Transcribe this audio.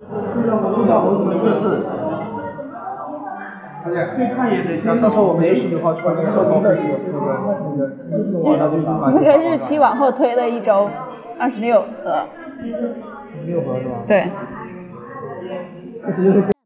小猴子们测试。最看也得到时候我们就10号传那个报废那个日期往后推了1周，26盒。 6盒是吧？ 对。 意思就是。